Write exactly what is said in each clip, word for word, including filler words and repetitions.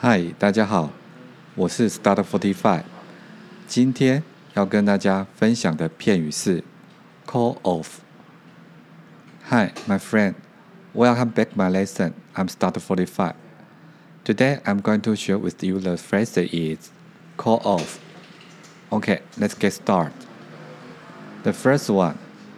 嗨，大家好，我是 Start Forty Five。今天要跟大家分享的片语是 call off。Hi, my friend. Welcome back my lesson. I'm Start Forty Five. Today I'm going to share with you the phrase is call off. Okay, let's get started. The first one.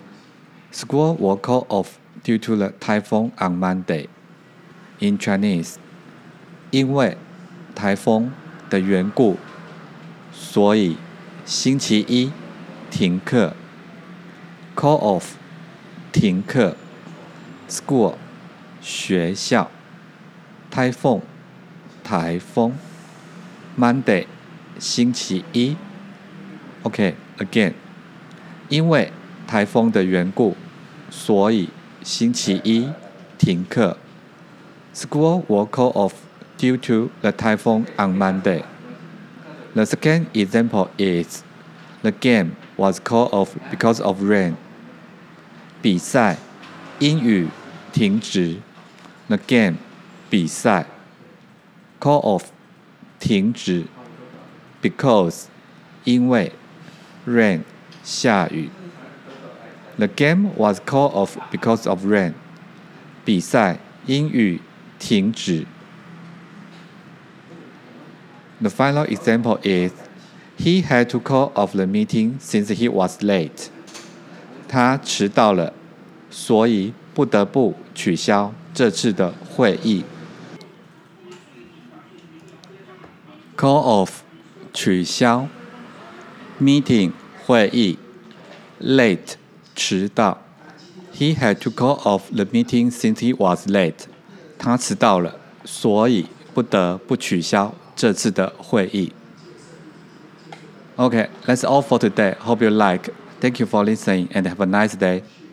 School will call off due to the typhoon on Monday. In Chinese, 因为台风的缘故，所以星期一停课。Call off 停课。School 学校。Typhoon 台风。Monday 星期一。OK, again. 因为台风的缘故，所以星期一停课。School will call off due to the typhoon on Monday. The second example is the game was called off because of rain. 比赛因雨停止。The game 比赛 call off 停止 because 因为 rain 下雨。The game was called off because of rain. 比赛因雨停止。The final example is, he had to call off the meeting since he was late. 他迟到了，所以不得不取消这次的会议。Call off 取消 meeting 会议 late 迟到 He had to call off the meeting since he was late. 他迟到了，所以不得不取消这次的会议。Okay, that's all for today. Hope you like. Thank you for listening and have a nice day.